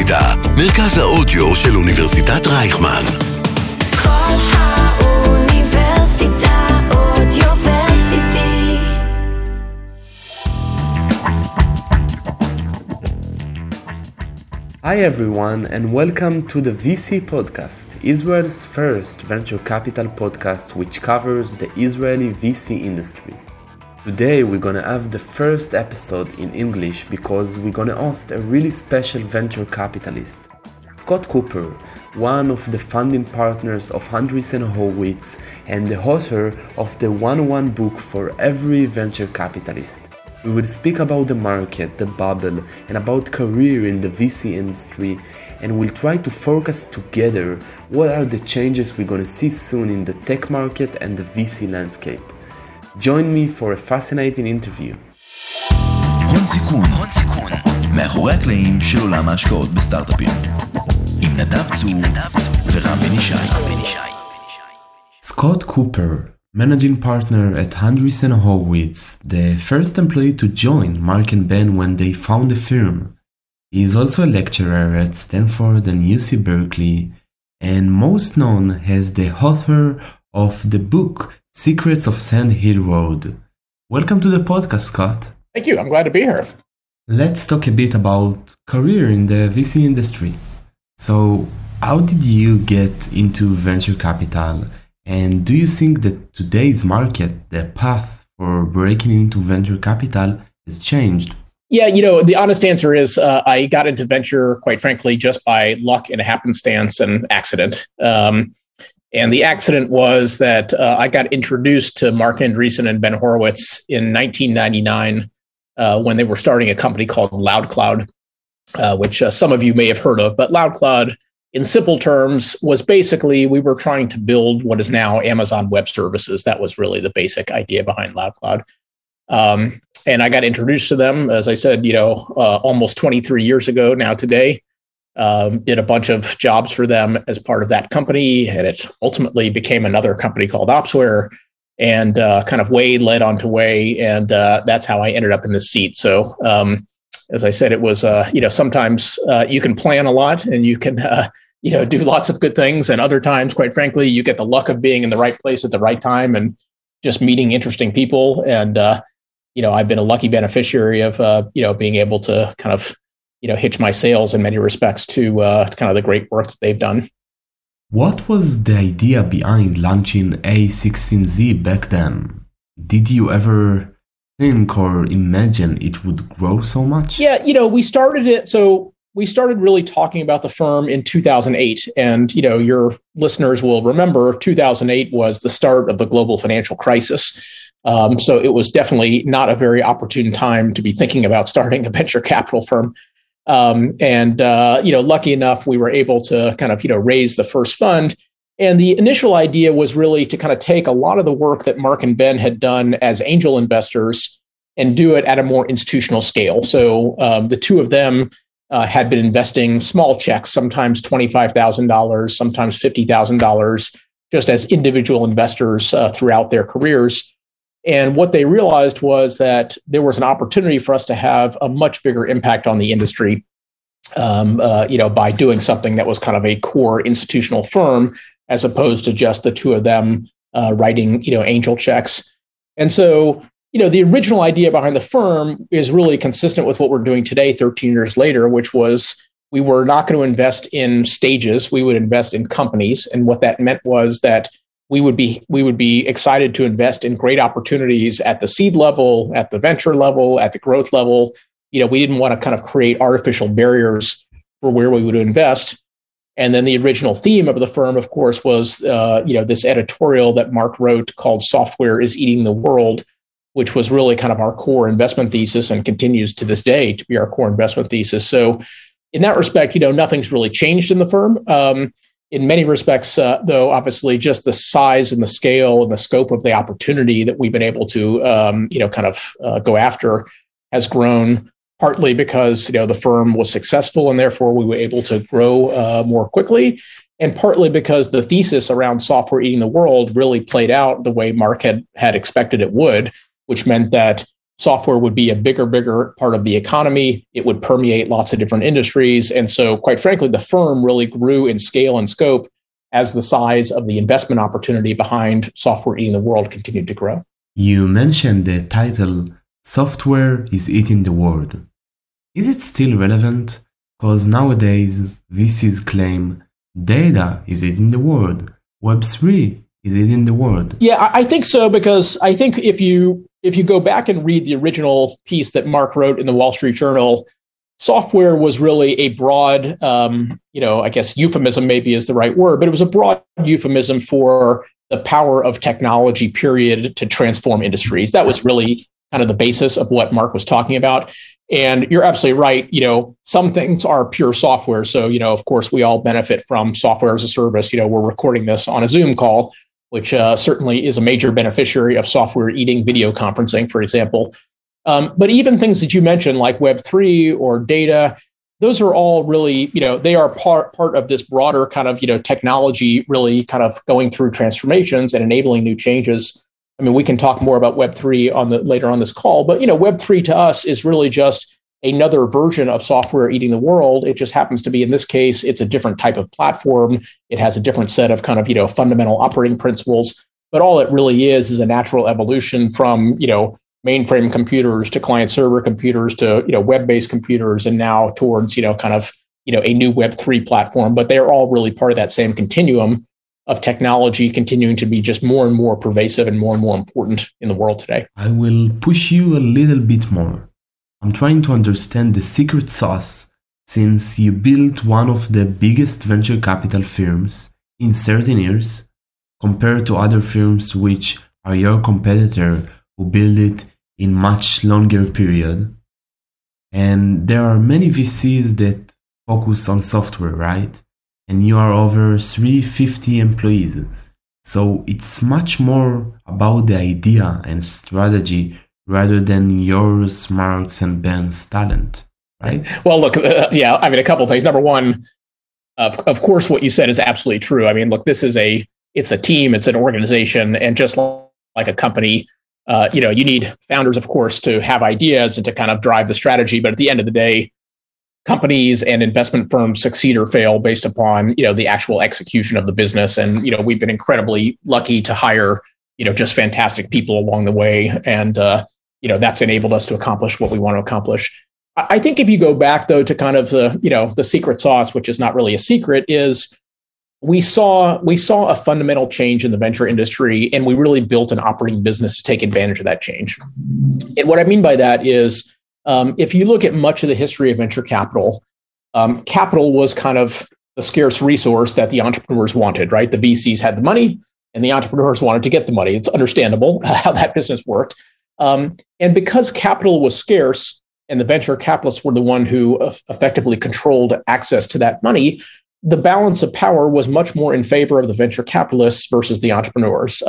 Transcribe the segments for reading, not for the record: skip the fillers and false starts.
האוניברסיטה, מרכז האודיו של אוניברסיטת רייכמן. כל האוניברסיטה אודיוורסיטי. Hi everyone and welcome to the VC podcast, Israel's first venture capital podcast which covers the Israeli VC industry. Today we're gonna have the first episode in English because we're gonna host a really special venture capitalist. Scott Cooper, one of the founding partners of Andreessen Horowitz and the author of the 101 book for every venture capitalist. We will speak about the market, the bubble, and about career in the VC industry, and we'll try to focus together what are the changes we're gonna see soon in the tech market and the VC landscape. Join me for a fascinating interview. הון סיכון, מאחורי הקלעים של עולם ההשקעות בסטארט-אפים. עם נדב צור ורם בן ישי. Scott Cooper, managing partner at Andreessen Horowitz, the first employee to join Mark and Ben when they found the firm. He is also a lecturer at Stanford and UC Berkeley, and most known as the author of the book Secrets of Sand Hill Road. Welcome to the podcast, Scott. Thank you. I'm glad to be here. Let's talk a bit about career in the VC industry. So, how did you get into venture capital? And do you think that today's market, the path for breaking into venture capital, has changed? Yeah, the honest answer is I got into venture, quite frankly, just by luck and happenstance and accident. And the accident was that I got introduced to Mark Andreessen and Ben Horowitz in 1999 when they were starting a company called LoudCloud, which some of you may have heard of. But LoudCloud, in simple terms, was basically we were trying to build what is now Amazon Web Services. That was really the basic idea behind LoudCloud. And I got introduced to them, as I said, almost 23 years ago now today. Did a bunch of jobs for them as part of that company, and it ultimately became another company called Opsware, and kind of way led on to way, and that's how I ended up in this seat. So, as I said, it was sometimes you can plan a lot and you can do lots of good things, and other times, quite frankly, you get the luck of being in the right place at the right time and just meeting interesting people. And I've been a lucky beneficiary of being able to kind of hitch my sails in many respects to kind of the great work that they've done. What was the idea behind launching A16Z back then? Did you ever think or imagine it would grow so much? Yeah, we started it. So we started really talking about the firm in 2008. And, your listeners will remember 2008 was the start of the global financial crisis. So it was definitely not a very opportune time to be thinking about starting a venture capital firm. Lucky enough, we were able to kind of, raise the first fund. And the initial idea was really to kind of take a lot of the work that Mark and Ben had done as angel investors and do it at a more institutional scale. So the two of them had been investing small checks, sometimes $25,000, sometimes $50,000, just as individual investors throughout their careers. And what they realized was that there was an opportunity for us to have a much bigger impact on the industry, by doing something that was kind of a core institutional firm, as opposed to just the two of them writing, angel checks. And so, the original idea behind the firm is really consistent with what we're doing today, 13 years later, which was we were not going to invest in stages. We would invest in companies. And what that meant was that we would be excited to invest in great opportunities at the seed level, at the venture level, at the growth level. We didn't want to kind of create artificial barriers for where we would invest. And then the original theme of the firm, of course, was this editorial that Mark wrote called "Software is Eating the World," which was really kind of our core investment thesis and continues to this day to be our core investment thesis. So, in that respect, nothing's really changed in the firm. In many respects, though, obviously, just the size and the scale and the scope of the opportunity that we've been able to, go after has grown, partly because, the firm was successful and therefore we were able to grow more quickly, and partly because the thesis around software eating the world really played out the way Mark had expected it would, which meant that software would be a bigger part of the economy. It would permeate lots of different industries. And so, quite frankly, the firm really grew in scale and scope as the size of the investment opportunity behind software eating the world continued to grow. You mentioned the title, Software is Eating the World. Is it still relevant? Because nowadays, VCs claim data is eating the world. Web3 is eating the world. Yeah, I think so, because I think if you go back and read the original piece that Mark wrote in the Wall Street Journal, software was really a broad, I guess euphemism maybe is the right word, but it was a broad euphemism for the power of technology, period, to transform industries. That was really kind of the basis of what Mark was talking about. And you're absolutely right. Some things are pure software. So, of course, we all benefit from software as a service. We're recording this on a Zoom call, which certainly is a major beneficiary of software eating video conferencing, for example. But even things that you mentioned, like Web3 or data, those are all really, they are part of this broader kind of, technology really kind of going through transformations and enabling new changes. I mean, we can talk more about Web3 later on this call, but Web3 to us is really just another version of software eating the world. It just happens to be, in this case, it's a different type of platform. It has a different set of kind of fundamental operating principles. But all it really is a natural evolution from mainframe computers to client server computers to web-based computers, and now towards a new Web3 platform. But they're all really part of that same continuum of technology continuing to be just more and more pervasive and more important in the world today. I will push you a little bit more. I'm trying to understand the secret sauce, since you built one of the biggest venture capital firms in 13 years, compared to other firms which are your competitor who build it in much longer period. And there are many VCs that focus on software, right? And you are over 350 employees. So it's much more about the idea and strategy rather than yours, Mark's, and Ben's talent, right? Well, look, a couple of things. Number one, of course, what you said is absolutely true. I mean, look, it's a team, it's an organization, and just like a company, you need founders, of course, to have ideas and to kind of drive the strategy. But at the end of the day, companies and investment firms succeed or fail based upon, the actual execution of the business. And, we've been incredibly lucky to hire, just fantastic people along the way. And, that's enabled us to accomplish what we want to accomplish. I think if you go back, though, to kind of the secret sauce, which is not really a secret, is we saw a fundamental change in the venture industry, and we really built an operating business to take advantage of that change. And what I mean by that is, if you look at much of the history of venture capital, capital was kind of the scarce resource that the entrepreneurs wanted, right? The VCs had the money and the entrepreneurs wanted to get the money. It's understandable how that business worked. And because capital was scarce and the venture capitalists were the one who effectively controlled access to that money, the balance of power was much more in favor of the venture capitalists versus the entrepreneurs.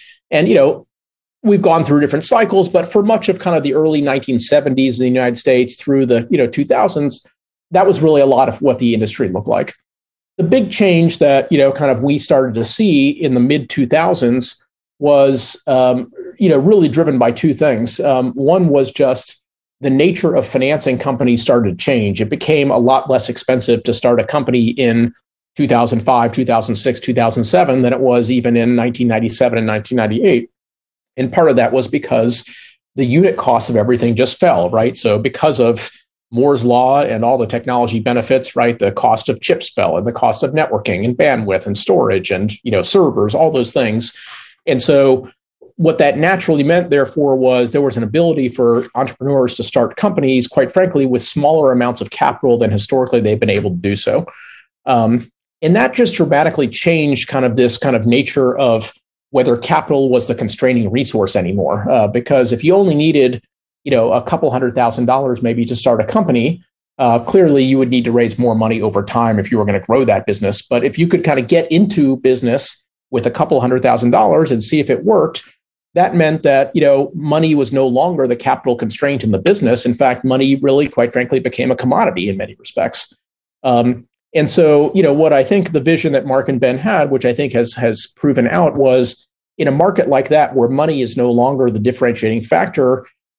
We've gone through different cycles, but for much of kind of the early 1970s in the United States through the 2000s, that was really a lot of what the industry looked like. The big change that we started to see in the mid 2000s was really driven by two things. One was just the nature of financing companies started to change. It became a lot less expensive to start a company in 2005, 2006, 2007 than it was even in 1997 and 1998. And part of that was because the unit cost of everything just fell, right? So because of Moore's law and all the technology benefits, right, the cost of chips fell, and the cost of networking and bandwidth and storage and servers, all those things. And so what that naturally meant, therefore, was there was an ability for entrepreneurs to start companies, quite frankly, with smaller amounts of capital than historically they've been able to do so. And that just dramatically changed kind of this kind of nature of whether capital was the constraining resource anymore. Because if you only needed, a couple $100,000 maybe to start a company, clearly you would need to raise more money over time if you were going to grow that business. But if you could kind of get into business with a couple $100,000 and see if it worked, that meant that, money was no longer the capital constraint in the business. In fact, money really, quite frankly, became a commodity in many respects. And so, what I think the vision that Mark and Ben had, which I think has proven out, was in a market like that where money is no longer the differentiating factor,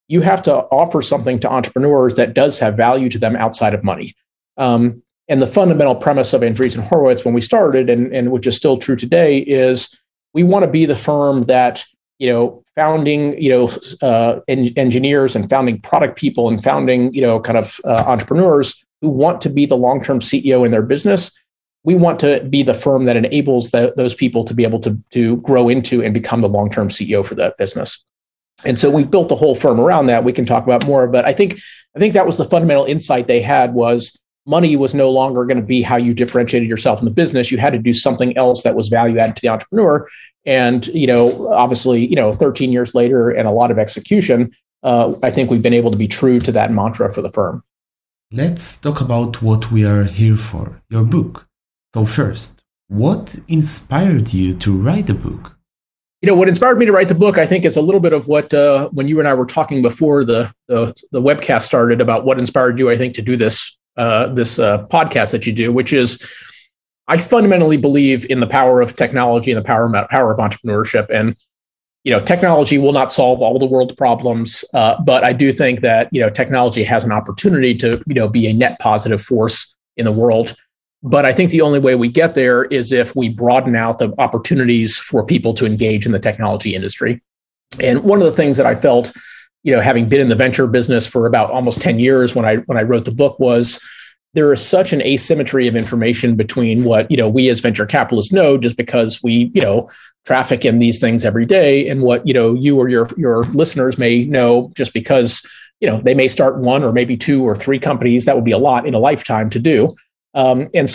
you have to offer something to entrepreneurs that does have value to them outside of money. And the fundamental premise of Andreessen Horowitz when we started, and which is still true today, is we want to be the firm that, founding, engineers and founding product people and founding, entrepreneurs who want to be the long-term CEO in their business. We want to be the firm that enables those people to be able to grow into and become the long-term CEO for that business. And so we built the whole firm around that. We can talk about more, but I think that was the fundamental insight they had was money was no longer going to be how you differentiated yourself in the business. You had to do something else that was value added to the entrepreneur. And, obviously, 13 years later and a lot of execution, I think we've been able to be true to that mantra for the firm. Let's talk about what we are here for, your book. So first, what inspired you to write the book? What inspired me to write the book, I think, is a little bit of what, when you and I were talking before the webcast started about what inspired you, I think, to do this podcast that you do, which is I fundamentally believe in the power of technology and the power of entrepreneurship. And, technology will not solve all the world's problems, but I do think that, technology has an opportunity to, be a net positive force in the world. But I think the only way we get there is if we broaden out the opportunities for people to engage in the technology industry. And one of the things that I felt, having been in the venture business for about almost 10 years when I wrote the book was there is such an asymmetry of information between what, we as venture capitalists know just because we, traffic in these things every day and what, you or your listeners may know just because, they may start one or maybe two or three companies. That would be a lot in a lifetime to do. And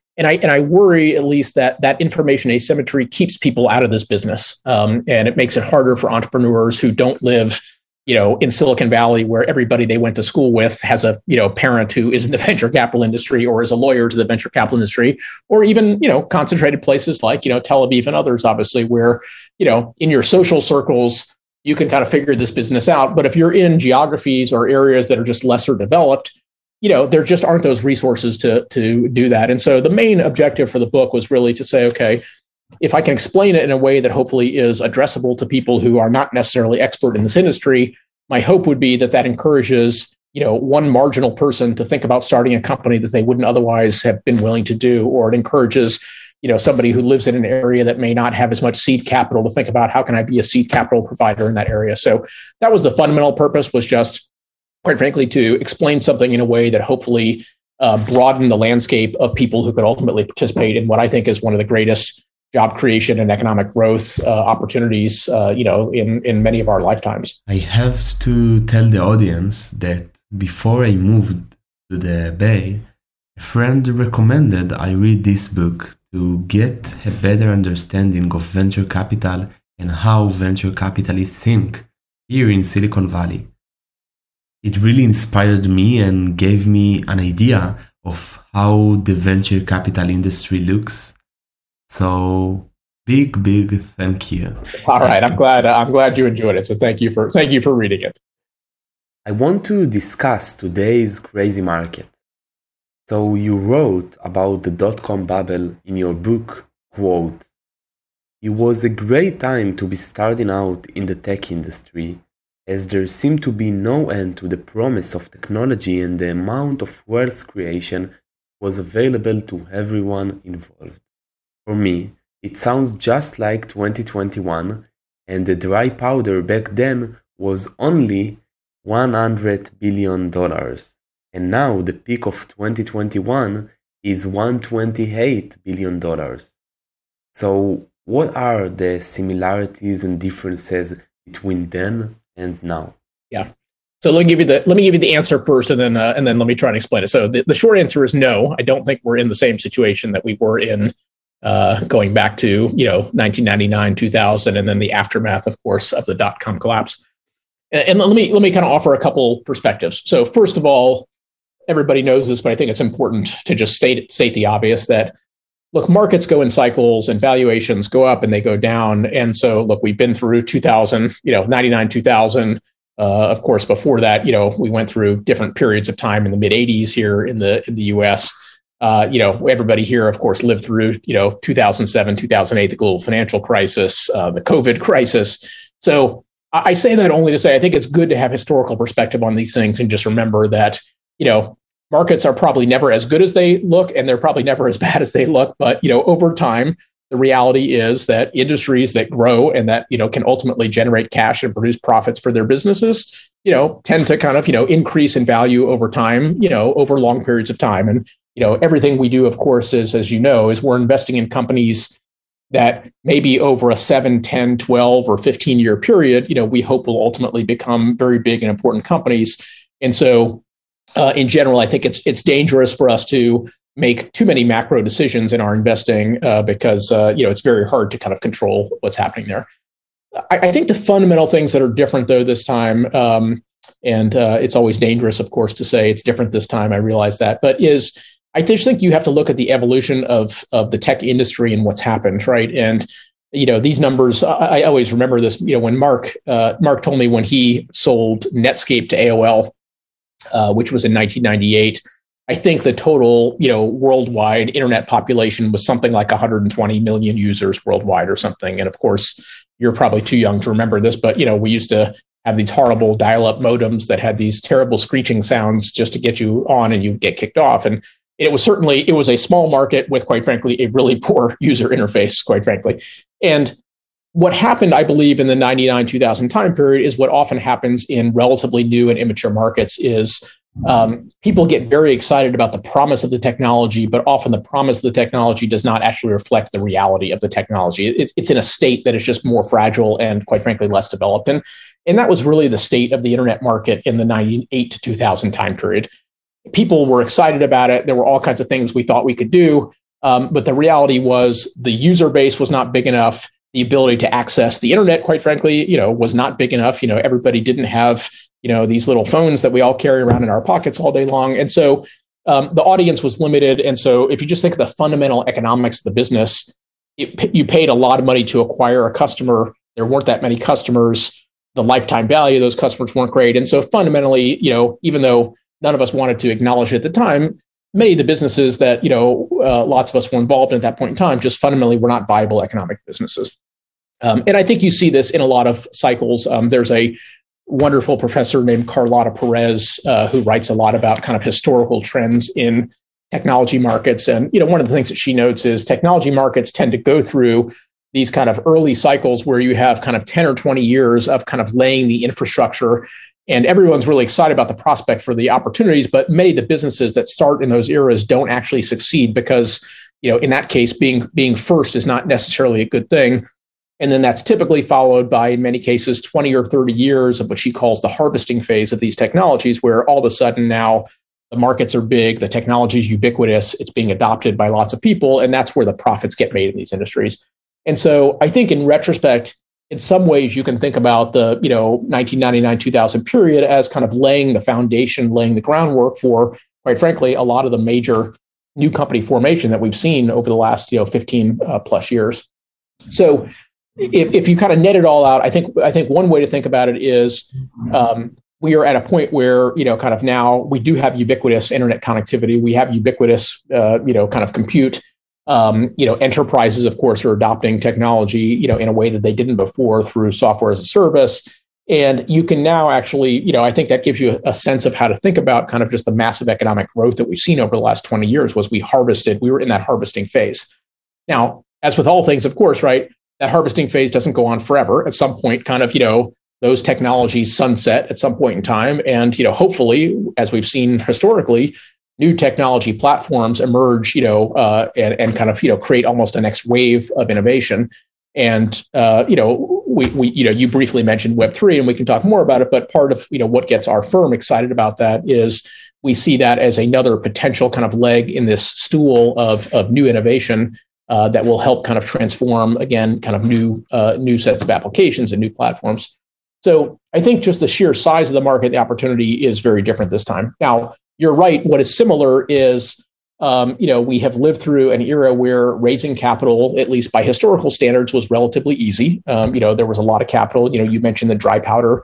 I worry at least that information asymmetry keeps people out of this business. And it makes it harder for entrepreneurs who don't live, in Silicon Valley, where everybody they went to school with has a, parent who is in the venture capital industry or is a lawyer to the venture capital industry, or even, concentrated places like, Tel Aviv and others, obviously, where, in your social circles, you can kind of figure this business out. But if you're in geographies or areas that are just lesser developed, there just aren't those resources to do that. And so the main objective for the book was really to say, okay, if I can explain it in a way that hopefully is addressable to people who are not necessarily expert in this industry, my hope would be that encourages, one marginal person to think about starting a company that they wouldn't otherwise have been willing to do, or it encourages, somebody who lives in an area that may not have as much seed capital to think about how can I be a seed capital provider in that area. So that was the fundamental purpose, was just, quite frankly, to explain something in a way that hopefully broaden the landscape of people who could ultimately participate in what I think is one of the greatest job creation and economic growth opportunities, in many of our lifetimes. I have to tell the audience that before I moved to the Bay, a friend recommended I read this book to get a better understanding of venture capital and how venture capitalists think here in Silicon Valley. It really inspired me and gave me an idea of how the venture capital industry looks. So big thank you. All right, I'm glad you enjoyed it. So thank you for reading it. I want to discuss today's crazy market. So you wrote about the dot-com bubble in your book, quote, "It was a great time to be starting out in the tech industry, as there seemed to be no end to the promise of technology and the amount of wealth creation was available to everyone involved. For me, it sounds just like 2021, and the dry powder back then was only $100 billion. And now the peak of 2021 is $128 billion. So what are the similarities and differences between then and now?" Yeah. So let me give you the answer first, and then let me try and explain it. So the short answer is no. I don't think we're in the same situation that we were in going back to 1999, 2000, and then the aftermath, of course, of the dot-com collapse. And let me kind of offer a couple perspectives. So first of all, everybody knows this, but I think it's important to just state the obvious that, look, markets go in cycles and valuations go up and they go down. And so, look, we've been through 2000, 99, 2000. Of course, before that, we went through different periods of time in the mid 80s here in the US. Everybody here, of course, lived through, 2007, 2008, the global financial crisis, the COVID crisis. So I say that only to say I think it's good to have historical perspective on these things and just remember that, markets are probably never as good as they look, and they're probably never as bad as they look. But, over time, the reality is that industries that grow and that, can ultimately generate cash and produce profits for their businesses, tend to kind of, increase in value over time, over long periods of time. And, everything we do, of course, is, as is we're investing in companies that maybe over a 7, 10, 12, or 15-year period, we hope will ultimately become very big and important companies. And so in general, I think it's dangerous for us to make too many macro decisions in our investing because it's very hard to kind of control what's happening there. I think the fundamental things that are different though this time, and it's always dangerous, of course, to say it's different this time. I realize that, but I just think you have to look at the evolution of the tech industry and what's happened, right? And these numbers, I always remember this. When Mark told me when he sold Netscape to AOL. Which was in 1998. I think the total, worldwide internet population was something like 120 million users worldwide or something. And of course, you're probably too young to remember this, but, we used to have these horrible dial-up modems that had these terrible screeching sounds just to get you on and you get kicked off. And it was a small market with, quite frankly, a really poor user interface, quite frankly. And what happened, I believe, in the 99-2000 time period is what often happens in relatively new and immature markets is people get very excited about the promise of the technology, but often the promise of the technology does not actually reflect the reality of the technology. It's in a state that is just more fragile and, quite frankly, less developed. And that was really the state of the internet market in the 98 to 2000 time period. People were excited about it. There were all kinds of things we thought we could do. But the reality was the user base was not big enough. The ability to access the internet, quite frankly, was not big enough. Everybody didn't have, these little phones that we all carry around in our pockets all day long. And so the audience was limited. And so if you just think of the fundamental economics of the business, you paid a lot of money to acquire a customer. There weren't that many customers. The lifetime value of those customers weren't great. And so fundamentally, even though none of us wanted to acknowledge it at the time, many of the businesses that, lots of us were involved in at that point in time just fundamentally were not viable economic businesses. And I think you see this in a lot of cycles. There's a wonderful professor named Carlota Perez who writes a lot about kind of historical trends in technology markets. And, one of the things that she notes is technology markets tend to go through these kind of early cycles where you have kind of 10 or 20 years of kind of laying the infrastructure. And everyone's really excited about the prospect for the opportunities, but many of the businesses that start in those eras don't actually succeed because, in that case, being first is not necessarily a good thing. And then that's typically followed by, in many cases, 20 or 30 years of what she calls the harvesting phase of these technologies, where all of a sudden now the markets are big, the technology is ubiquitous, it's being adopted by lots of people, and that's where the profits get made in these industries. And so I think in retrospect, in some ways, you can think about the 1999-2000 period as kind of laying the foundation, laying the groundwork for, quite frankly, a lot of the major new company formation that we've seen over the last 15 plus years. So if you kind of net it all out, I think one way to think about it is we are at a point where kind of now we do have ubiquitous internet connectivity. We have ubiquitous kind of compute. Enterprises, of course, are adopting technology, in a way that they didn't before through software as a service. And you can now actually, I think that gives you a sense of how to think about kind of just the massive economic growth that we've seen over the last 20 years was we were in that harvesting phase. Now, as with all things, of course, right, that harvesting phase doesn't go on forever. At some point, kind of, those technologies sunset at some point in time. And, hopefully, as we've seen historically, new technology platforms emerge, and kind of, create almost a next wave of innovation. And, you briefly mentioned Web3, and we can talk more about it. But part of, what gets our firm excited about that is we see that as another potential kind of leg in this stool of new innovation that will help kind of transform, again, kind of new sets of applications and new platforms. So I think just the sheer size of the market, the opportunity is very different this time. Now, you're right. What is similar is, we have lived through an era where raising capital, at least by historical standards, was relatively easy. There was a lot of capital. You mentioned the dry powder.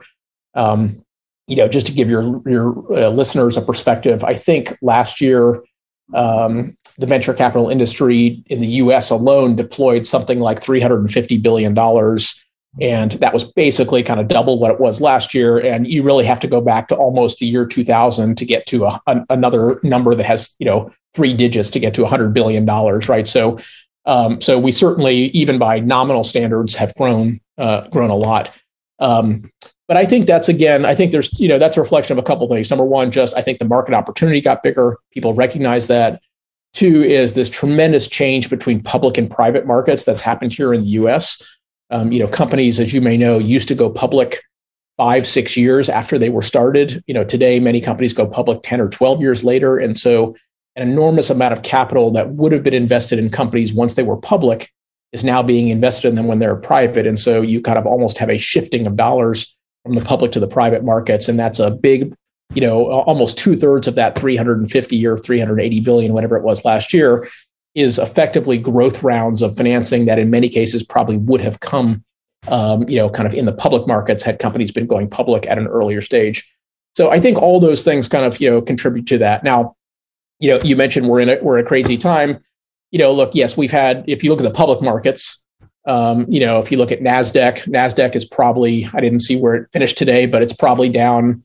Just to give your listeners a perspective, I think last year, the venture capital industry in the U.S. alone deployed something like $350 billion And that was basically kind of double what it was last year. And you really have to go back to almost the year 2000 to get to another number that has, three digits to get to $100 billion, right? So we certainly, even by nominal standards, have grown a lot. But I think that's that's a reflection of a couple of things. Number one, I think the market opportunity got bigger. People recognize that. Two is this tremendous change between public and private markets that's happened here in the U.S. Companies, as you may know, used to go public 5-6 years after they were started. Today, many companies go public 10 or 12 years later. And so an enormous amount of capital that would have been invested in companies once they were public is now being invested in them when they're private. And so you kind of almost have a shifting of dollars from the public to the private markets. And that's a big, almost 2/3 of that 350 or 380 billion, whatever it was last year, is effectively growth rounds of financing that in many cases probably would have come, kind of in the public markets had companies been going public at an earlier stage. So I think all those things kind of, contribute to that. Now, you mentioned we're in a crazy time. Look, yes, we've had, if you look at the public markets, if you look at NASDAQ is probably, I didn't see where it finished today, but it's probably down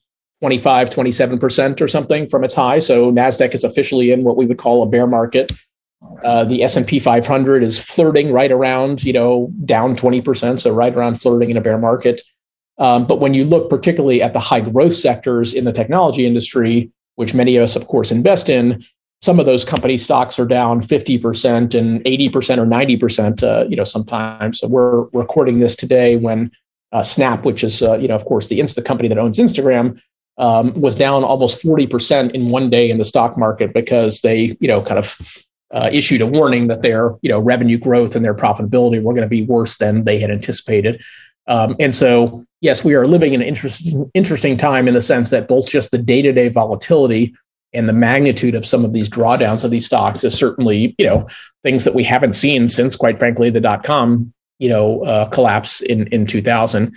27% or something from its high. So NASDAQ is officially in what we would call a bear market. The S&P 500 is flirting right around, down 20%. So right around flirting in a bear market. But when you look particularly at the high growth sectors in the technology industry, which many of us, of course, invest in, some of those company stocks are down 50% and 80% or 90%, sometimes. So we're recording this today when Snap, which is, of course, the company that owns Instagram, was down almost 40% in one day in the stock market because they, kind of issued a warning that their, revenue growth and their profitability were going to be worse than they had anticipated. And so, yes, we are living in an interesting time in the sense that both just the day-to-day volatility and the magnitude of some of these drawdowns of these stocks is certainly, things that we haven't seen since, quite frankly, the dot-com, collapse in 2000.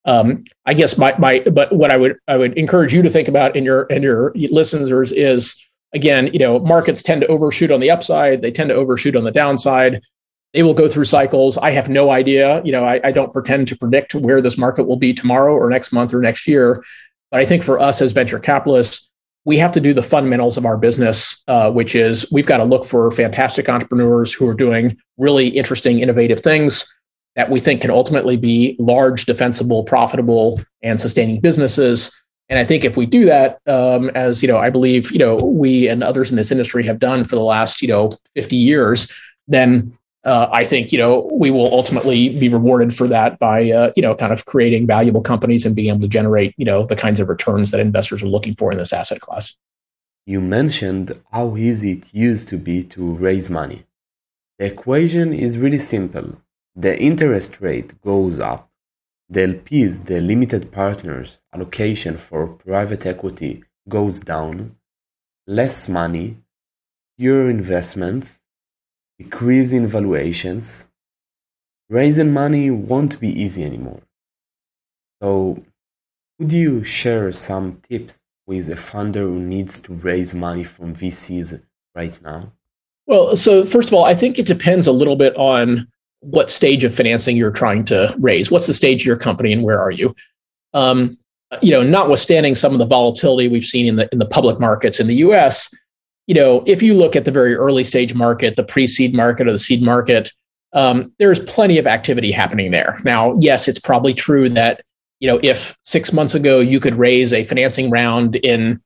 I guess but what I would encourage you to think about and your listeners is, again, markets tend to overshoot on the upside. They tend to overshoot on the downside. They will go through cycles. I have no idea. I don't pretend to predict where this market will be tomorrow or next month or next year. But I think for us as venture capitalists, we have to do the fundamentals of our business, which is we've got to look for fantastic entrepreneurs who are doing really interesting, innovative things that we think can ultimately be large, defensible, profitable, and sustaining businesses. And I think if we do that, as I believe we and others in this industry have done for the last 50 years, then I think we will ultimately be rewarded for that by kind of creating valuable companies and being able to generate the kinds of returns that investors are looking for in this asset class. You mentioned how easy it used to be to raise money. The equation is really simple. The interest rate goes up. The LPs, the limited partners allocation for private equity, goes down. Less money, fewer investments, decrease in valuations. Raising money won't be easy anymore. So, could you share some tips with a funder who needs to raise money from VCs right now? Well, so first of all, I think it depends a little bit on what stage of financing you're trying to raise. What's the stage of your company and where are you? Notwithstanding some of the volatility we've seen in the public markets in the US, if you look at the very early stage market, the pre-seed market or the seed market, there's plenty of activity happening there. Now, yes, it's probably true that, if 6 months ago you could raise a financing round in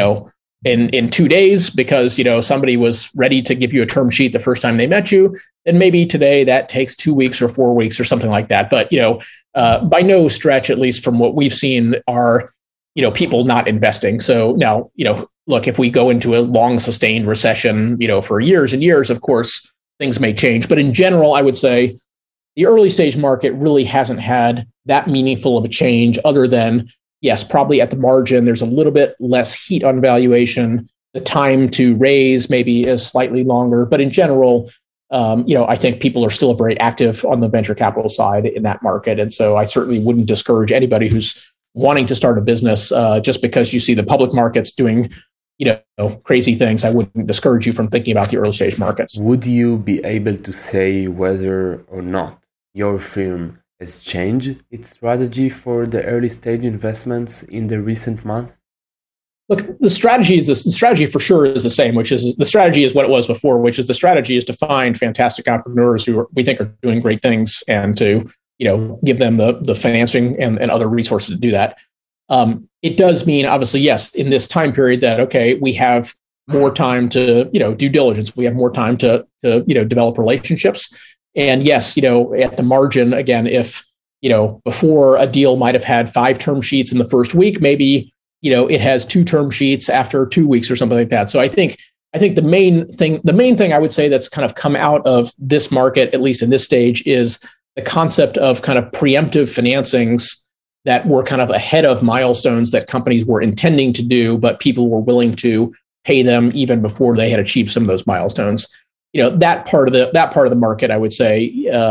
2 days because, somebody was ready to give you a term sheet the first time they met you, then maybe today that takes 2 weeks or 4 weeks or something like that. But, by no stretch, at least from what we've seen, are, people not investing. So now, look, if we go into a long sustained recession, for years and years, of course, things may change. But in general, I would say the early stage market really hasn't had that meaningful of a change other than, yes, probably at the margin, there's a little bit less heat on valuation. The time to raise maybe is slightly longer. But in general, I think people are still very active on the venture capital side in that market. And so I certainly wouldn't discourage anybody who's wanting to start a business just because you see the public markets doing crazy things. I wouldn't discourage you from thinking about the early stage markets. Would you be able to say whether or not your firm has changed its strategy for the early stage investments in the recent month? Look, the strategy for sure is the same, which is the strategy is what it was before, which is the strategy is to find fantastic entrepreneurs we think are doing great things and to, give them the financing and other resources to do that. It does mean, obviously, yes, in this time period that, okay, we have more time to, due diligence. We have more time to develop relationships. And yes, at the margin, again, if, before a deal might have had 5 term sheets in the first week, maybe, it has 2 term sheets after 2 weeks or something like that. So I think the main thing I would say that's kind of come out of this market, at least in this stage, is the concept of kind of preemptive financings that were kind of ahead of milestones that companies were intending to do, but people were willing to pay them even before they had achieved some of those milestones. That part of the market, I would say,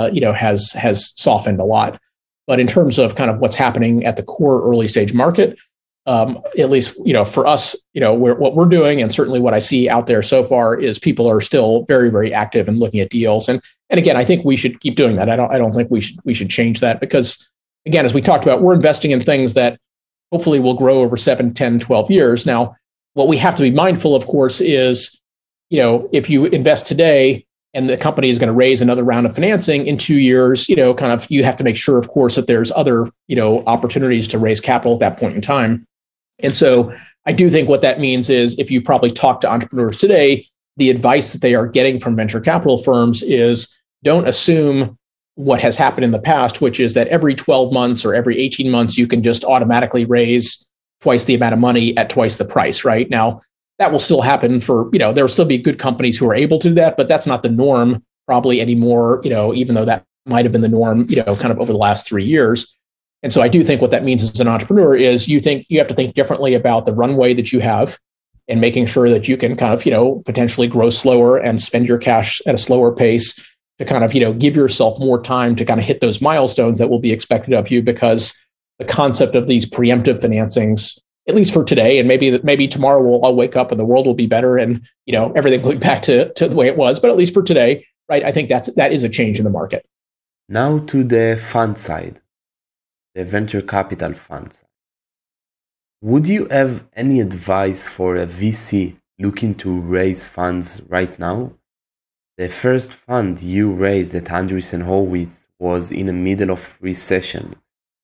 has softened a lot. But in terms of kind of what's happening at the core early stage market, at least, for us, what we're doing, and certainly what I see out there so far is people are still very, very active in looking at deals. And again, I think we should keep doing that. I don't think we should change that because, again, as we talked about, we're investing in things that hopefully will grow over 7, 10, 12 years. Now, what we have to be mindful, of course, is, if you invest today and the company is going to raise another round of financing in 2 years, you have to make sure, of course, that there's other, opportunities to raise capital at that point in time. And so I do think what that means is if you probably talk to entrepreneurs today, the advice that they are getting from venture capital firms is don't assume what has happened in the past, which is that every 12 months or every 18 months, you can just automatically raise twice the amount of money at twice the price, right? Now, that will still happen for, there will still be good companies who are able to do that, but that's not the norm probably anymore, even though that might have been the norm, kind of over the last 3 years. And so I do think what that means as an entrepreneur is you have to think differently about the runway that you have and making sure that you can kind of, potentially grow slower and spend your cash at a slower pace to kind of, give yourself more time to kind of hit those milestones that will be expected of you, because the concept of these preemptive financings, at least for today, and maybe tomorrow I'll wake up and the world will be better and, everything will be back to the way it was. But at least for today, right, I think that is a change in the market. Now to the fund side, the venture capital funds. Would you have any advice for a VC looking to raise funds right now? The first fund you raised at Andreessen Horowitz was in the middle of recession,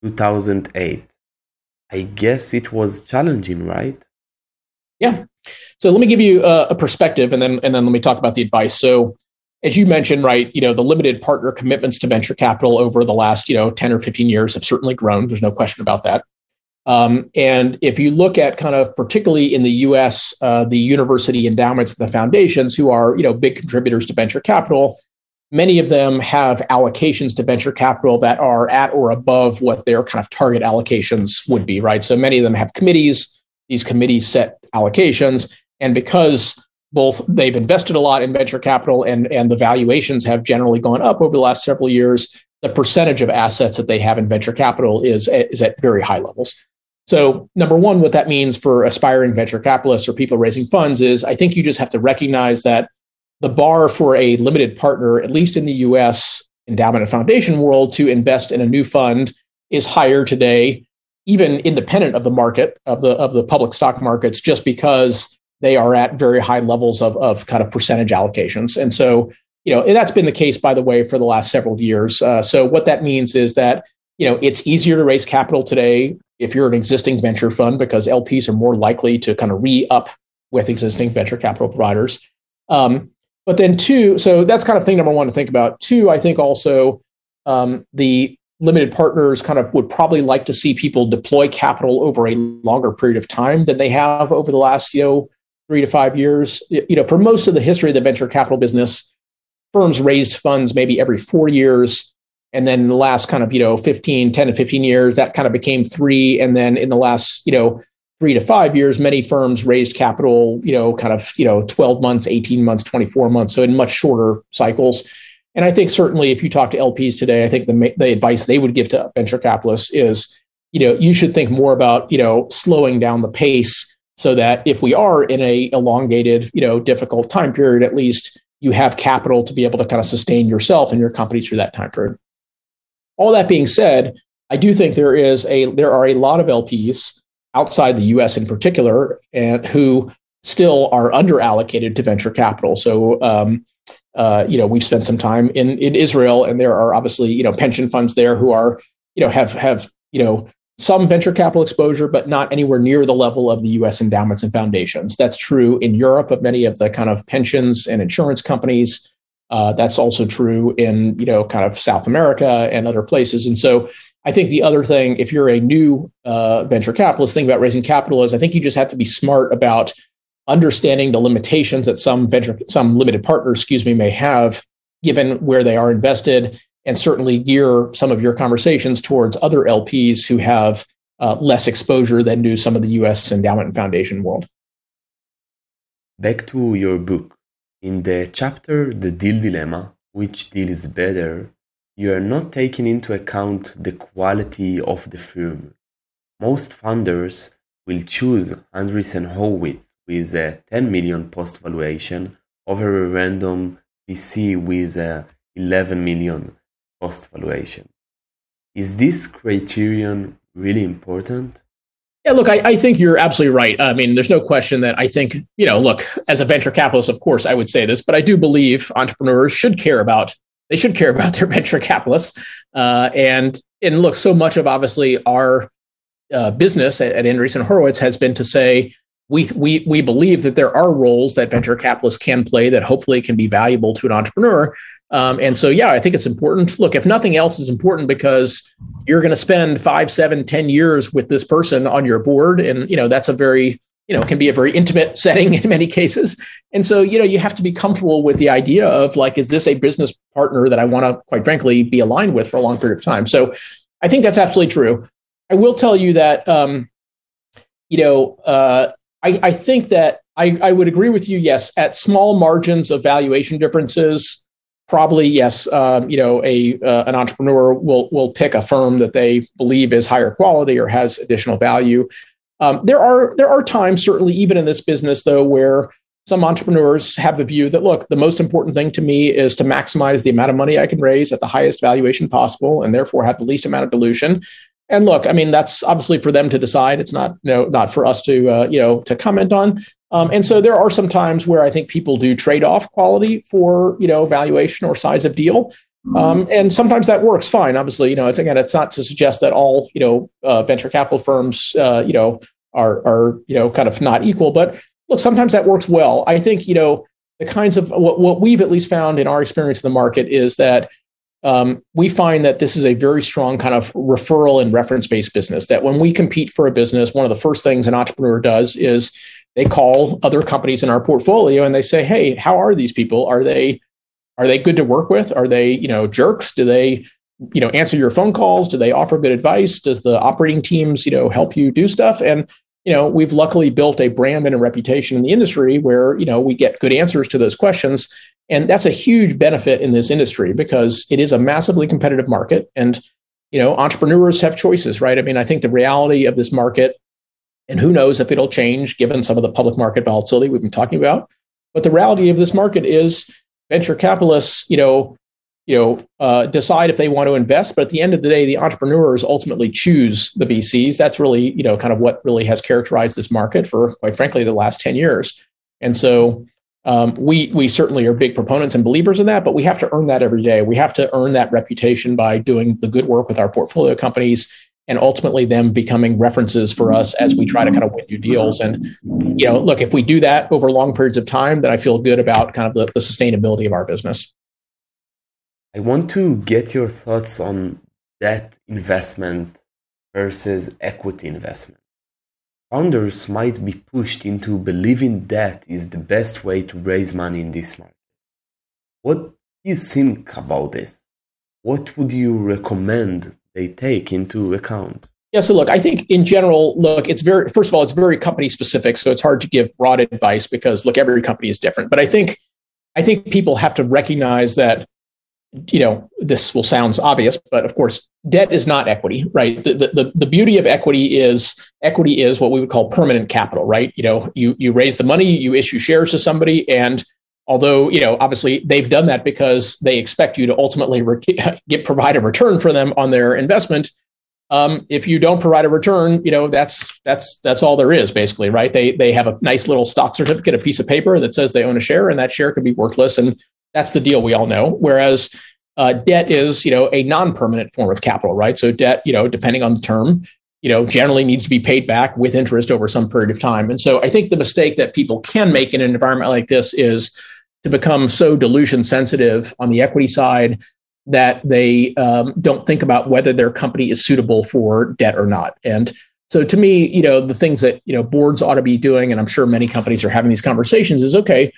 2008. I guess it was challenging, right? Yeah. So let me give you a perspective and then let me talk about the advice. So as you mentioned, right, the limited partner commitments to venture capital over the last, 10 or 15 years have certainly grown. There's no question about that. And if you look at kind of particularly in the US, the university endowments and the foundations who are, big contributors to venture capital, many of them have allocations to venture capital that are at or above what their kind of target allocations would be, right? So many of them have committees. These committees set allocations. And because both they've invested a lot in venture capital and the valuations have generally gone up over the last several years, the percentage of assets that they have in venture capital is at very high levels. So number one, what that means for aspiring venture capitalists or people raising funds is I think you just have to recognize that the bar for a limited partner, at least in the US endowment and foundation world, to invest in a new fund is higher today, even independent of the market, of the public stock markets, just because they are at very high levels of kind of percentage allocations. And so, and that's been the case, by the way, for the last several years. So what that means is that, it's easier to raise capital today if you're an existing venture fund because LPs are more likely to kind of re-up with existing venture capital providers. But then two, so that's kind of thing number one to think about. Two, I think also the limited partners kind of would probably like to see people deploy capital over a longer period of time than they have over the last, 3 to 5 years. For most of the history of the venture capital business, firms raised funds maybe every 4 years. And then in the last kind of, 10 to 15 years, that kind of became 3. And then in the last, 3 to 5 years, many firms raised capital, 12 months, 18 months, 24 months. So in much shorter cycles. And I think certainly if you talk to LPs today, I think the advice they would give to venture capitalists is, you should think more about, slowing down the pace so that if we are in a elongated, difficult time period, at least you have capital to be able to kind of sustain yourself and your company through that time period. all that being said, I do think there are a lot of LPs outside the U.S. in particular, and who still are underallocated to venture capital. So, we've spent some time in Israel, and there are obviously pension funds there who are have some venture capital exposure, but not anywhere near the level of the U.S. endowments and foundations. That's true in Europe of many of the kind of pensions and insurance companies. That's also true in kind of South America and other places. And so I think the other thing, if you're a new venture capitalist thinking about raising capital, is I think you just have to be smart about understanding the limitations that some limited partners, may have given where they are invested, and certainly gear some of your conversations towards other LPs who have less exposure than do some of the U.S. endowment and foundation world. Back to your book. In the chapter, The Deal Dilemma, which deal is better, you are not taking into account the quality of the firm. Most funders will choose Andreessen Horowitz with a 10 million post valuation over a random VC with a 11 million post valuation. Is this criterion really important? Yeah, look, I think you're absolutely right. I mean, there's no question that I think, look, as a venture capitalist, of course, I would say this, but I do believe entrepreneurs should care about their venture capitalists. And look, so much of obviously our business at Andreessen Horowitz has been to say, we believe that there are roles that venture capitalists can play that hopefully can be valuable to an entrepreneur. And so, yeah, I think it's important. Look, if nothing else is important because you're going to spend 5, 7, 10 years with this person on your board. And, that's a very, can be a very intimate setting in many cases. And so, you have to be comfortable with the idea of like, is this a business partner that I want to, quite frankly, be aligned with for a long period of time? So I think that's absolutely true. I will tell you that, I think that I would agree with you. Yes, at small margins of valuation differences, probably yes. An entrepreneur will pick a firm that they believe is higher quality or has additional value. There are times, certainly even in this business, though, where some entrepreneurs have the view that, look, the most important thing to me is to maximize the amount of money I can raise at the highest valuation possible, and therefore have the least amount of dilution. And look, I mean, that's obviously for them to decide. It's not, not for us to, to comment on. And so there are some times where I think people do trade off quality for, valuation or size of deal. And sometimes that works fine. Obviously, it's not to suggest that all, venture capital firms, are kind of not equal. But look, sometimes that works well. I think, the kinds of what we've at least found in our experience in the market is that we find that this is a very strong kind of referral and reference-based business, that when we compete for a business, one of the first things an entrepreneur does is they call other companies in our portfolio and they say, hey, how are these people? Are they good to work with? Are they, jerks? Do they, answer your phone calls? Do they offer good advice? Does the operating teams, help you do stuff? And, we've luckily built a brand and a reputation in the industry where, we get good answers to those questions. And that's a huge benefit in this industry because it is a massively competitive market. And, entrepreneurs have choices, right? I mean, I think the reality of this market, and who knows if it'll change given some of the public market volatility we've been talking about. But the reality of this market is venture capitalists, decide if they want to invest. But at the end of the day, the entrepreneurs ultimately choose the VCs. That's really, kind of what really has characterized this market for, quite frankly, the last 10 years. And so we certainly are big proponents and believers in that, but we have to earn that every day. We have to earn that reputation by doing the good work with our portfolio companies and ultimately them becoming references for us as we try to kind of win new deals. And, look, if we do that over long periods of time, then I feel good about kind of the sustainability of our business. I want to get your thoughts on debt investment versus equity investment. Founders might be pushed into believing debt is the best way to raise money in this market. What do you think about this? What would you recommend they take into account? Yeah, so look, I think in general, it's very company specific. So it's hard to give broad advice because look, every company is different. But I think people have to recognize that, this will sound obvious, but of course, debt is not equity, right? The beauty of equity is what we would call permanent capital, right? You raise the money, you issue shares to somebody, and Although, obviously they've done that because they expect you to ultimately provide a return for them on their investment. If you don't provide a return, that's all there is basically, right? They have a nice little stock certificate, a piece of paper that says they own a share, and that share could be worthless. And that's the deal we all know. Whereas debt is, a non-permanent form of capital, right? So debt, depending on the term, generally needs to be paid back with interest over some period of time. And so I think the mistake that people can make in an environment like this is to become so dilution sensitive on the equity side that they don't think about whether their company is suitable for debt or not. And so to me, the things that, boards ought to be doing, and I'm sure many companies are having these conversations, is okay,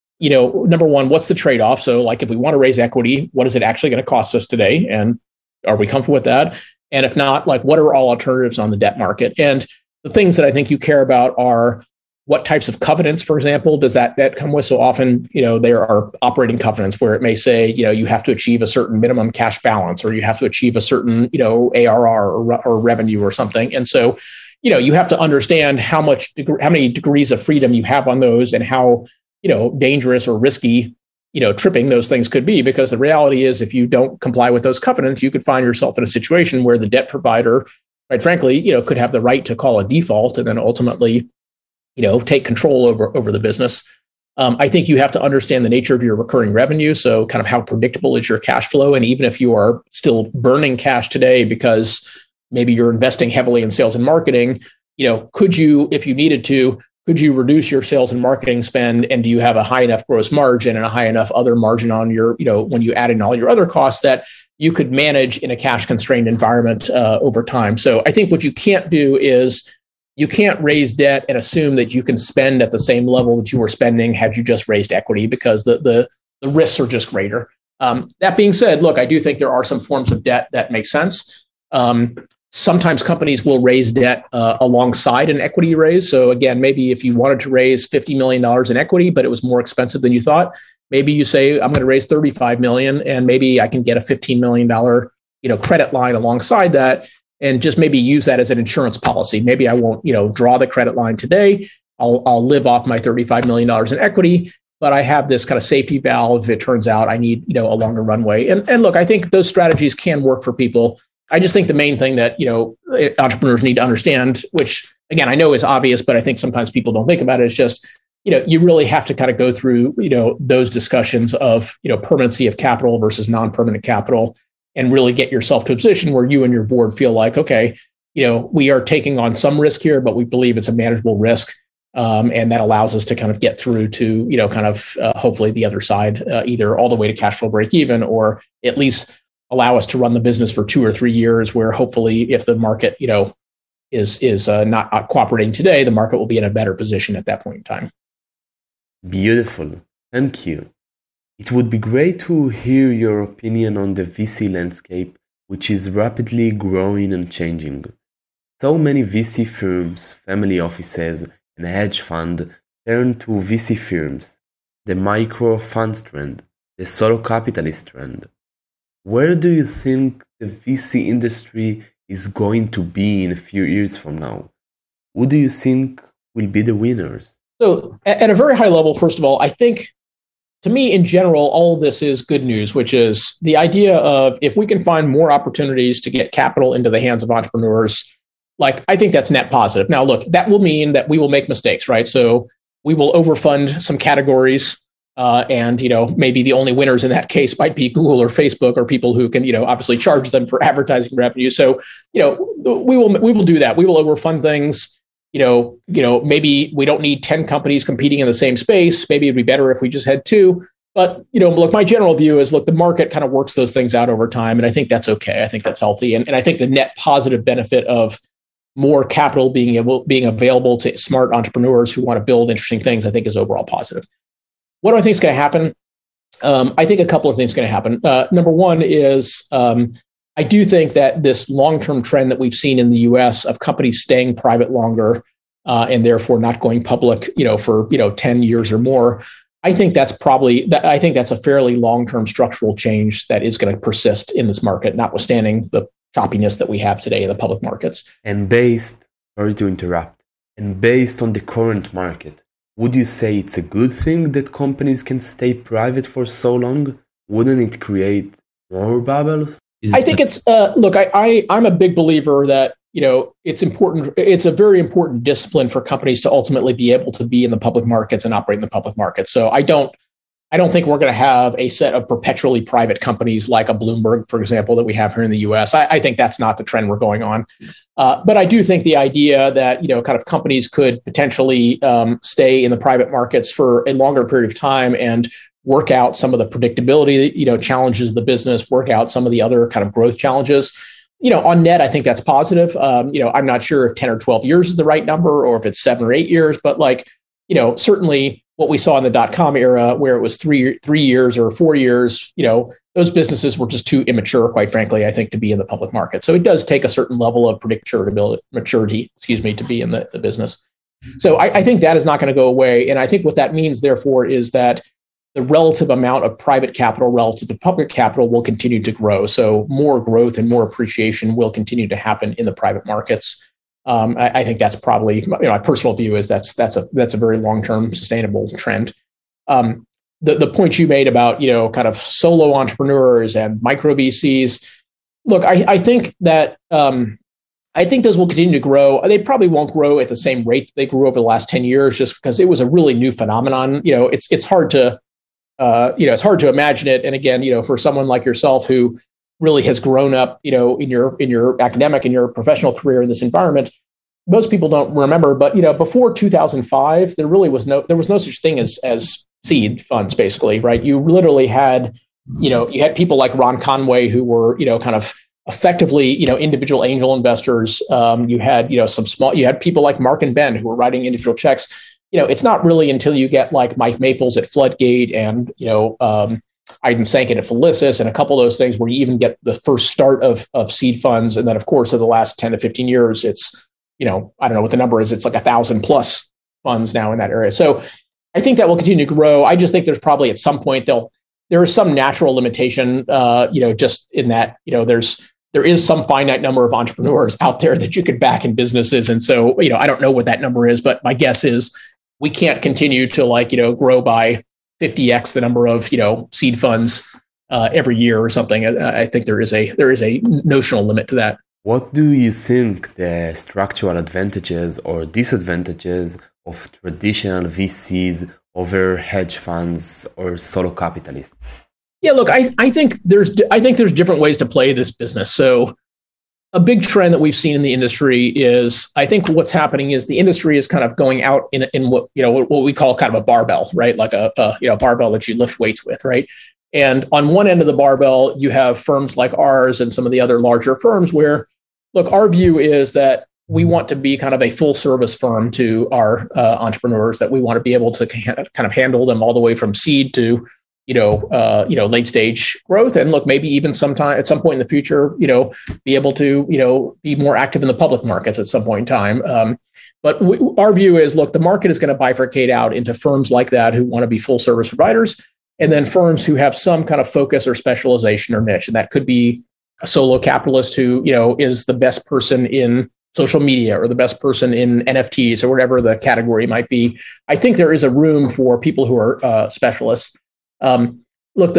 number one, what's the trade-off? So like if we want to raise equity, what is it actually going to cost us today? And are we comfortable with that? And if not, like what are all alternatives on the debt market? And the things that I think you care about are what types of covenants, for example, does that debt come with? So often, there are operating covenants where it may say, you have to achieve a certain minimum cash balance, or you have to achieve a certain, ARR or revenue or something. And so, you have to understand how many degrees of freedom you have on those, and how, dangerous or risky, tripping those things could be. Because the reality is, if you don't comply with those covenants, you could find yourself in a situation where the debt provider, quite frankly, could have the right to call a default and then ultimately, take control over the business. I think you have to understand the nature of your recurring revenue. So kind of how predictable is your cash flow? And even if you are still burning cash today because maybe you're investing heavily in sales and marketing, could you, if you needed to, could you reduce your sales and marketing spend? And do you have a high enough gross margin and a high enough other margin on your, when you add in all your other costs, that you could manage in a cash constrained environment over time? So I think what you can't do is you can't raise debt and assume that you can spend at the same level that you were spending had you just raised equity, because the risks are just greater. That being said, look, I do think there are some forms of debt that make sense. Sometimes companies will raise debt alongside an equity raise. So again, maybe if you wanted to raise $50 million in equity, but it was more expensive than you thought, maybe you say, I'm going to raise $35 million, and maybe I can get a $15 million credit line alongside that, and just maybe use that as an insurance policy. Maybe I won't, draw the credit line today. I'll live off my $35 million in equity, but I have this kind of safety valve if it turns out I need, a longer runway. And look, I think those strategies can work for people. I just think the main thing that, entrepreneurs need to understand, which again, I know is obvious, but I think sometimes people don't think about it, is just, you really have to kind of go through, those discussions of, permanency of capital versus non-permanent capital, and really get yourself to a position where you and your board feel like, okay, we are taking on some risk here, but we believe it's a manageable risk. And that allows us to kind of get through to, hopefully the other side, either all the way to cash flow break even, or at least allow us to run the business for 2 or 3 years, where hopefully if the market, is not cooperating today, the market will be in a better position at that point in time. Beautiful. Thank you. It would be great to hear your opinion on the VC landscape, which is rapidly growing and changing. So many VC firms, family offices, and hedge funds turn to VC firms, the micro funds trend, the solo capitalist trend. Where do you think the VC industry is going to be in a few years from now? Who do you think will be the winners? So at a very high level, first of all, I think, to me, in general, all of this is good news, which is the idea of if we can find more opportunities to get capital into the hands of entrepreneurs, I think that's net positive. Now, look, that will mean that we will make mistakes, right? So we will overfund some categories, and maybe the only winners in that case might be Google or Facebook, or people who can obviously charge them for advertising revenue. So we will do that. We will overfund things. Maybe we don't need 10 companies competing in the same space. Maybe it'd be better if we just had 2. But, look, my general view is, look, the market kind of works those things out over time. And I think that's okay. I think that's healthy. And I think the net positive benefit of more capital being available to smart entrepreneurs who want to build interesting things, I think is overall positive. What do I think is going to happen? I think a couple of things are going to happen. Number one is I do think that this long-term trend that we've seen in the US of companies staying private longer and therefore not going public, for 10 years or more, I think that's a fairly long-term structural change that is going to persist in this market, notwithstanding the choppiness that we have today in the public markets. And based on the current market, Would you say it's a good thing that companies can stay private for so long? Wouldn't it create more bubbles? I think it's look. I'm a big believer that it's important. It's a very important discipline for companies to ultimately be able to be in the public markets and operate in the public markets. So I don't think we're going to have a set of perpetually private companies like a Bloomberg, for example, that we have here in the U.S. I think that's not the trend we're going on. But I do think the idea that kind of companies could potentially stay in the private markets for a longer period of time and work out some of the predictability, challenges of the business, work out some of the other kind of growth challenges. On net, I think that's positive. I'm not sure if 10 or 12 years is the right number or if it's 7 or 8 years, but certainly what we saw in the dot-com era where it was 3 years or 4 years, those businesses were just too immature, quite frankly, I think, to be in the public market. So it does take a certain level of maturity, to be in the business. So I think that is not going to go away. And I think what that means, therefore, is that the relative amount of private capital relative to public capital will continue to grow. So more growth and more appreciation will continue to happen in the private markets. I think that's probably my personal view is that's a very long-term sustainable trend. The point you made about kind of solo entrepreneurs and micro VCs. Look, I think that I think those will continue to grow. They probably won't grow at the same rate they grew over the last 10 years, just because it was a really new phenomenon. It's hard to it's hard to imagine it. And again, for someone like yourself who really has grown up, in your academic and your professional career in this environment, most people don't remember. But before 2005, there was no such thing as seed funds, basically, right? You literally had, you had people like Ron Conway who were, kind of effectively, individual angel investors. You had, you had people like Mark and Ben who were writing individual checks. It's not really until you get like Mike Maples at Floodgate and, Aydin Sanket at Felicis and a couple of those things where you even get the first start of seed funds. And then, of course, over the last 10 to 15 years, it's, I don't know what the number is. It's like 1,000 plus funds now in that area. So I think that will continue to grow. I just think there's probably at some point there is some natural limitation, just in that, there is some finite number of entrepreneurs out there that you could back in businesses. And so, I don't know what that number is, but my guess is we can't continue to grow by 50x the number of, seed funds every year or something. I think there is a notional limit to that. What do you think the structural advantages or disadvantages of traditional VCs over hedge funds or solo capitalists? Yeah, look, I think there's different ways to play this business. So a big trend that we've seen in the industry is, I think what's happening is the industry is kind of going out in what we call kind of a barbell, right? Like a barbell that you lift weights with, right? And on one end of the barbell, you have firms like ours and some of the other larger firms where, look, our view is that we want to be kind of a full service firm to our entrepreneurs, that we want to be able to kind of handle them all the way from seed to late stage growth. And look, maybe even sometime at some point in the future, be able to, be more active in the public markets at some point in time. But our view is, look, the market is going to bifurcate out into firms like that who want to be full service providers, and then firms who have some kind of focus or specialization or niche. And that could be a solo capitalist who, is the best person in social media or the best person in NFTs or whatever the category might be. I think there is a room for people who are specialists. Look,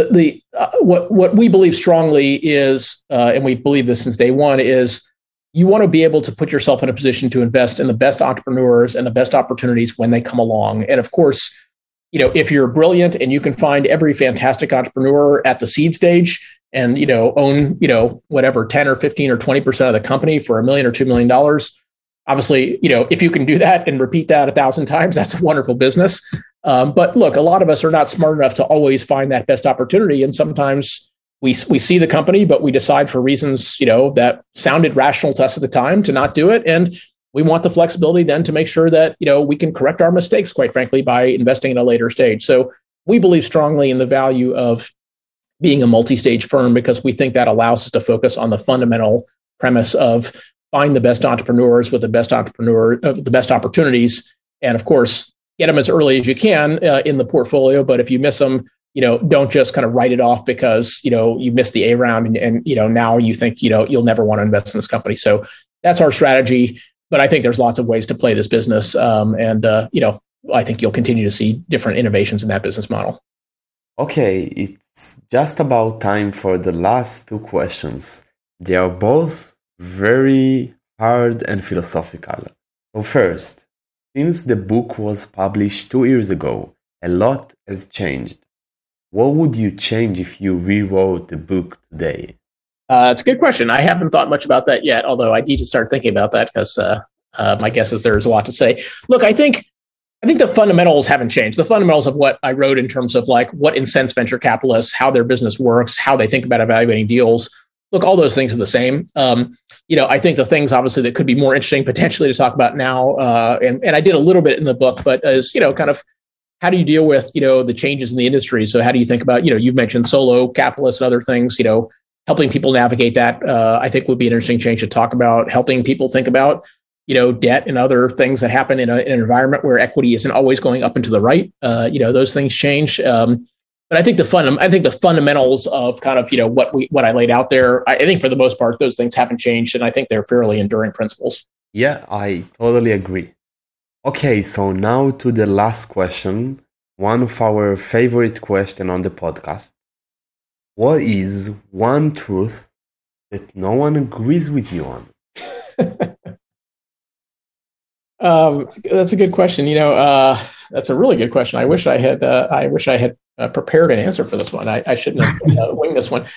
what we believe strongly is, and we believe this since day one, is you want to be able to put yourself in a position to invest in the best entrepreneurs and the best opportunities when they come along. And of course, if you're brilliant and you can find every fantastic entrepreneur at the seed stage and, own, whatever, 10 or 15 or 20% of the company for $1 million or $2 million, obviously, if you can do that and repeat that 1,000 times, that's a wonderful business. But look, a lot of us are not smart enough to always find that best opportunity. And sometimes we see the company, but we decide for reasons, that sounded rational to us at the time to not do it. And we want the flexibility then to make sure that, we can correct our mistakes, quite frankly, by investing in a later stage. So we believe strongly in the value of being a multi-stage firm because we think that allows us to focus on the fundamental premise of find the best entrepreneurs with the best opportunities. And of course, get them as early as you can in the portfolio. But if you miss them, don't just kind of write it off because, you missed the A round and now you think, you'll never want to invest in this company. So that's our strategy. But I think there's lots of ways to play this business. And I think you'll continue to see different innovations in that business model. Okay, it's just about time for the last two questions. They are both very hard and philosophical. So first, since the book was published 2 years ago, a lot has changed. What would you change if you rewrote the book today? It's a good question. I haven't thought much about that yet, although I need to start thinking about that because my guess is there's a lot to say. Look, I think the fundamentals haven't changed. The fundamentals of what I wrote in terms of like what incents venture capitalists, how their business works, how they think about evaluating deals. Look, all those things are the same. I think the things obviously that could be more interesting potentially to talk about now, and I did a little bit in the book, but as kind of how do you deal with the changes in the industry? So how do you think about you've mentioned solo capitalists and other things. Helping people navigate that, I think would be an interesting change to talk about. Helping people think about debt and other things that happen in an environment where equity isn't always going up and to the right. Those things change. But I think the fundamentals of kind of what I laid out there, I think for the most part those things haven't changed, and I think they're fairly enduring principles. Yeah, I totally agree. Okay, so now to the last question, one of our favorite questions on the podcast. What is one truth that no one agrees with you on? That's a good question. That's a really good question. I wish I had prepared an answer for this one. I shouldn't have winged this one.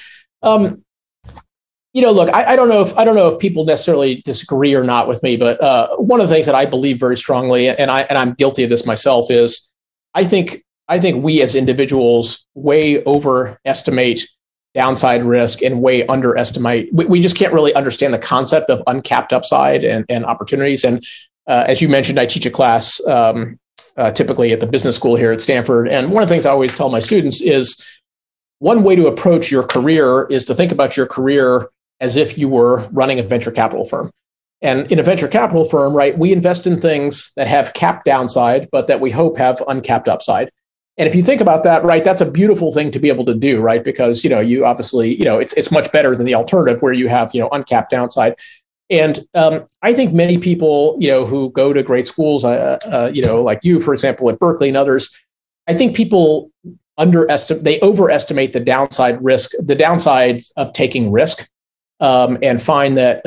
Look, I don't know if people necessarily disagree or not with me, but one of the things that I believe very strongly, and I'm guilty of this myself, is I think we as individuals way overestimate downside risk and way underestimate. We just can't really understand the concept of uncapped upside and opportunities. And as you mentioned, I teach a class typically at the business school here at Stanford. And one of the things I always tell my students is one way to approach your career is to think about your career as if you were running a venture capital firm. And in a venture capital firm, right, we invest in things that have capped downside, but that we hope have uncapped upside. And if you think about that, right, that's a beautiful thing to be able to do, right? Because, you obviously, it's much better than the alternative where you have, uncapped downside. And I think many people, who go to great schools, like you, for example, at Berkeley and others, I think people overestimate the downside risk, the downsides of taking risk, and find that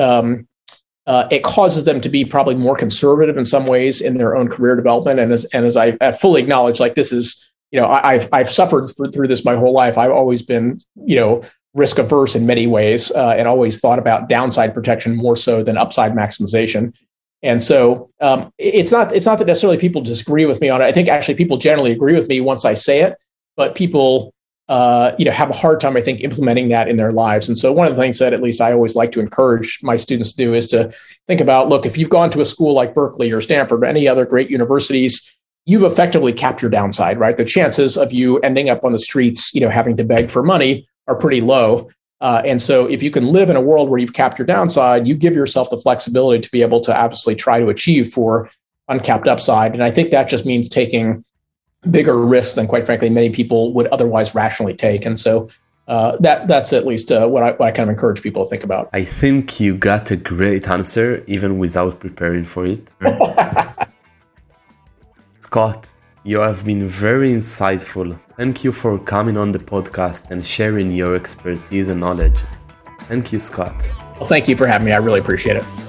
it causes them to be probably more conservative in some ways in their own career development. And as I fully acknowledge, like this is, I've suffered through this my whole life. I've always been, risk averse in many ways, and always thought about downside protection more so than upside maximization. And so it's not that necessarily people disagree with me on it. I think actually people generally agree with me once I say it, but people have a hard time, I think, implementing that in their lives. And so one of the things that at least I always like to encourage my students to do is to think about, look, if you've gone to a school like Berkeley or Stanford or any other great universities, you've effectively capped your downside, right? The chances of you ending up on the streets, having to beg for money are pretty low. And so if you can live in a world where you've capped your downside, you give yourself the flexibility to be able to obviously try to achieve for uncapped upside. And I think that just means taking bigger risks than, quite frankly, many people would otherwise rationally take. And so that's at least what I kind of encourage people to think about. I think you got a great answer, even without preparing for it. Scott, you have been very insightful. Thank you for coming on the podcast and sharing your expertise and knowledge. Thank you, Scott. Well, thank you for having me. I really appreciate it.